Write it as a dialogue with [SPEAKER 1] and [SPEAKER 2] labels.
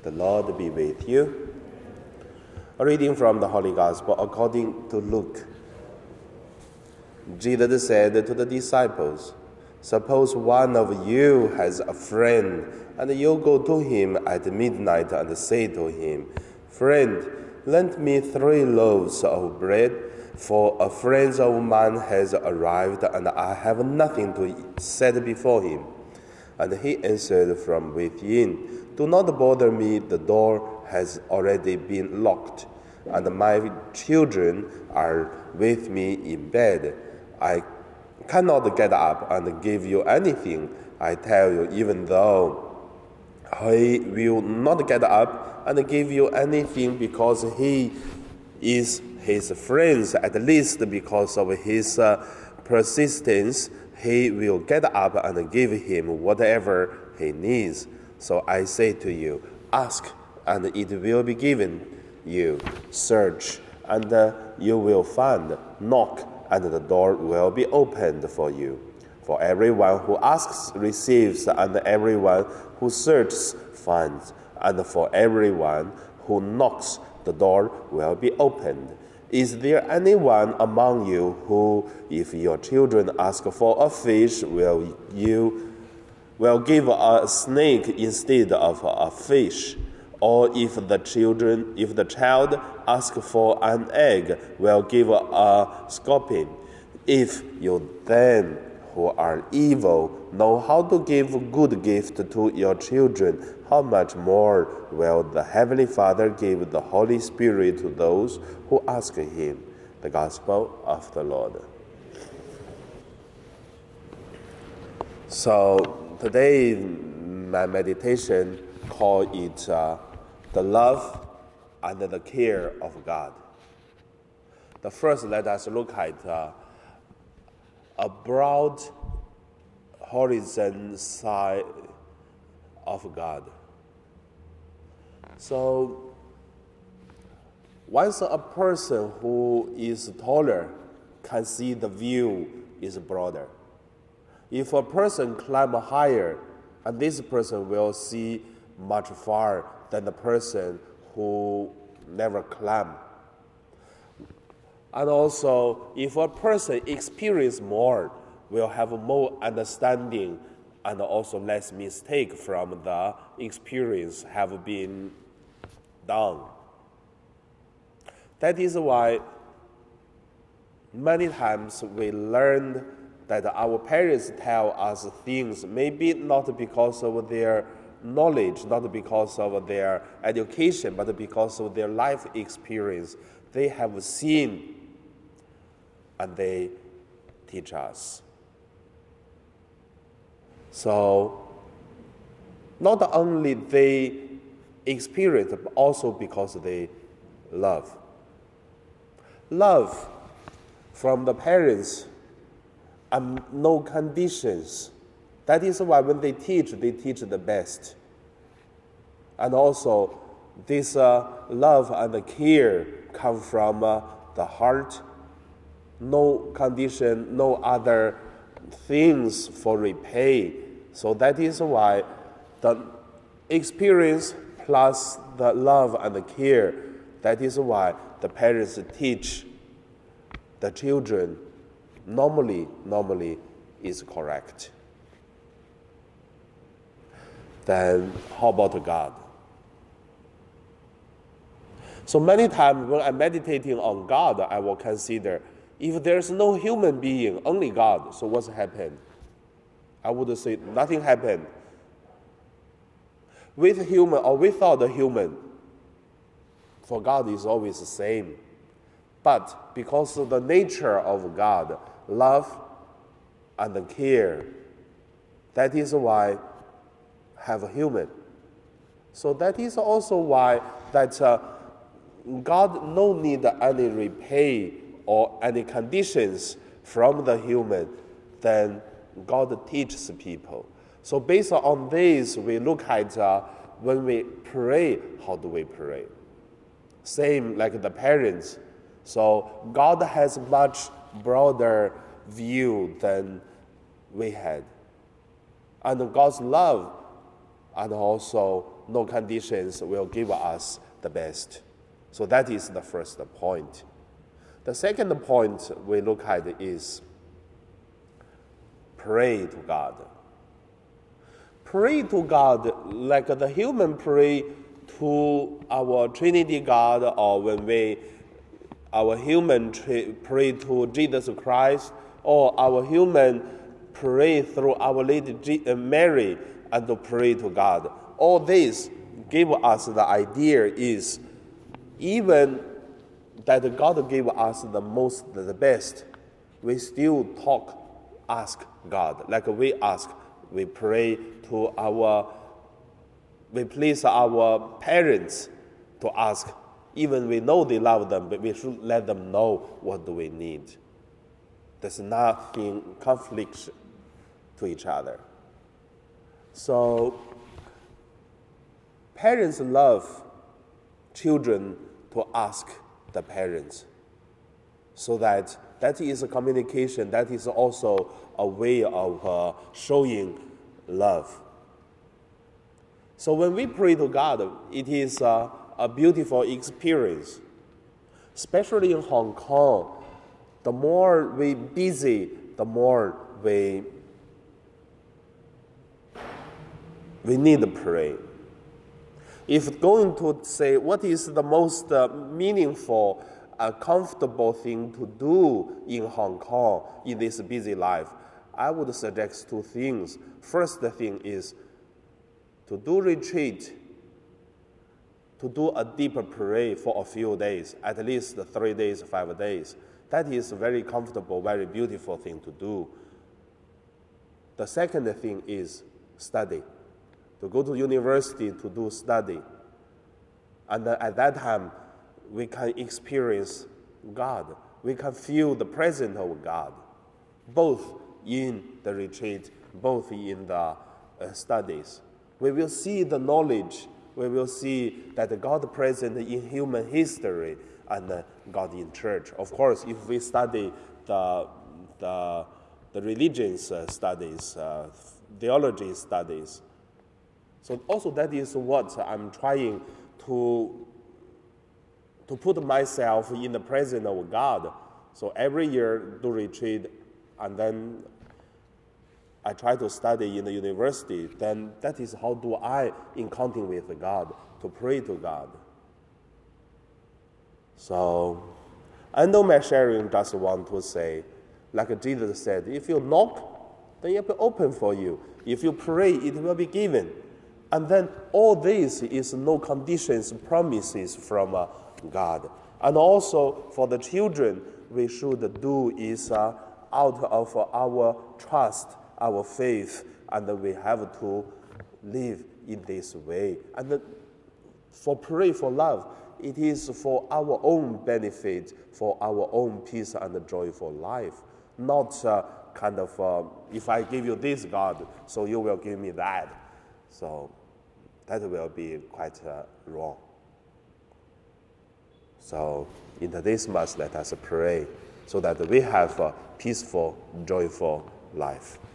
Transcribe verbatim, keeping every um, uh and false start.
[SPEAKER 1] The Lord be with you. A reading from the Holy Gospel according to Luke. Jesus said to the disciples, "Suppose one of you has a friend, and you go to him at midnight and say to him, 'Friend, lend me three loaves of bread, for a friend of mine has arrived, and I have nothing to set before him.' And he answered from within, 'Do not bother me, the door has already been locked, and my children are with me in bed. I cannot get up and give you anything. I tell you, even though he will not get up and give you anything because he is his friend, at least because of his uh, persistence, he will get up and give him whatever he needs. So I say to you, ask, and it will be given you. Search, and uh, you will find. Knock, and the door will be opened for you. For everyone who asks receives, and everyone who searches finds, and for everyone who knocks, the door will be opened. Is there anyone among you who, if your children ask for a fish, will you will give a snake instead of a fish? Or if the children, if the child asks for an egg, will give a scorpion? If you then, who are evil, know how to give good gift to your children, how much more will the Heavenly Father give the Holy Spirit to those who ask him? The Gospel of the Lord. So today, my meditation call it uh, the love and the care of God. The first, let us look at uh, a broad horizon side of God. So, once a person who is taller can see the view is broader. If a person climb higher, and this person will see much far than the person who never climb. And also, if a person experience more, will have more understanding and also less mistake from the experience have been done. That is why many times we learn that our parents tell us things, maybe not because of their knowledge, not because of their education, but because of their life experience. They have seen and they teach us. So, not only they experience, but also because they love. Love from the parents and no conditions. That is why when they teach, they teach the best. And also, this uh, love and care come from uh, the heart. No condition, no other things for repay. So that is why the experience plus the love and the care, that is why the parents teach the children normally, normally is correct. Then how about God? So many times when I'm meditating on God, I will consider, if there's no human being, only God, so what's happened? I would say nothing happened. With human or without the human, for God is always the same. But because of the nature of God, love and the care, that is why have a human. So that is also why that uh, God no need any repay or any conditions from the human, then God teaches people. So based on this, we look at uh, when we pray, how do we pray? Same like the parents. So God has much broader view than we had. And God's love and also no conditions will give us the best. So that is the first point. The second point we look at is pray to God. Pray to God like the human pray to our Trinity God, or when we, our human pray to Jesus Christ, or our human pray through Our Lady Mary and to pray to God. All this give us the idea is even that God gave us the most, the best, we still talk, ask God. Like we ask, we pray to our, we please our parents to ask. Even we know they love them, but we should let them know what do we need. There's nothing conflict to each other. So parents love children to ask the parents, so that that is a communication, that is also a way of uh, showing love. So when we pray to God, it is uh, a beautiful experience, especially in Hong Kong. The more we busy, the more we we need to pray. If going to say what is the most uh, meaningful, uh, comfortable thing to do in Hong Kong in this busy life, I would suggest two things. First thing is to do retreat, to do a deeper prayer for a few days, at least three days, five days. That is a very comfortable, very beautiful thing to do. The second thing is study. To go to university to do study. And at that time, we can experience God. We can feel the presence of God, both in the retreat, both in the uh, studies. We will see the knowledge. We will see that God present in human history and uh, God in church. Of course, if we study the, the, the religions uh, studies, uh, theology studies, so also that is what I'm trying to, to put myself in the presence of God. So every year do retreat, and then I try to study in the university. Then that is how do I encounter with God, to pray to God. So I know my sharing just want to say, like Jesus said, if you knock, then it will be open for you. If you pray, it will be given. And then all this is no conditions, promises from uh, God. And also for the children, we should do is uh, out of our trust, our faith, and we have to live in this way. And then for pray for love, it is for our own benefit, for our own peace and joyful life. Not uh, kind of, uh, if I give you this, God, so you will give me that. So that will be quite uh, wrong. So in today's Mass, let us pray so that we have a peaceful, joyful life.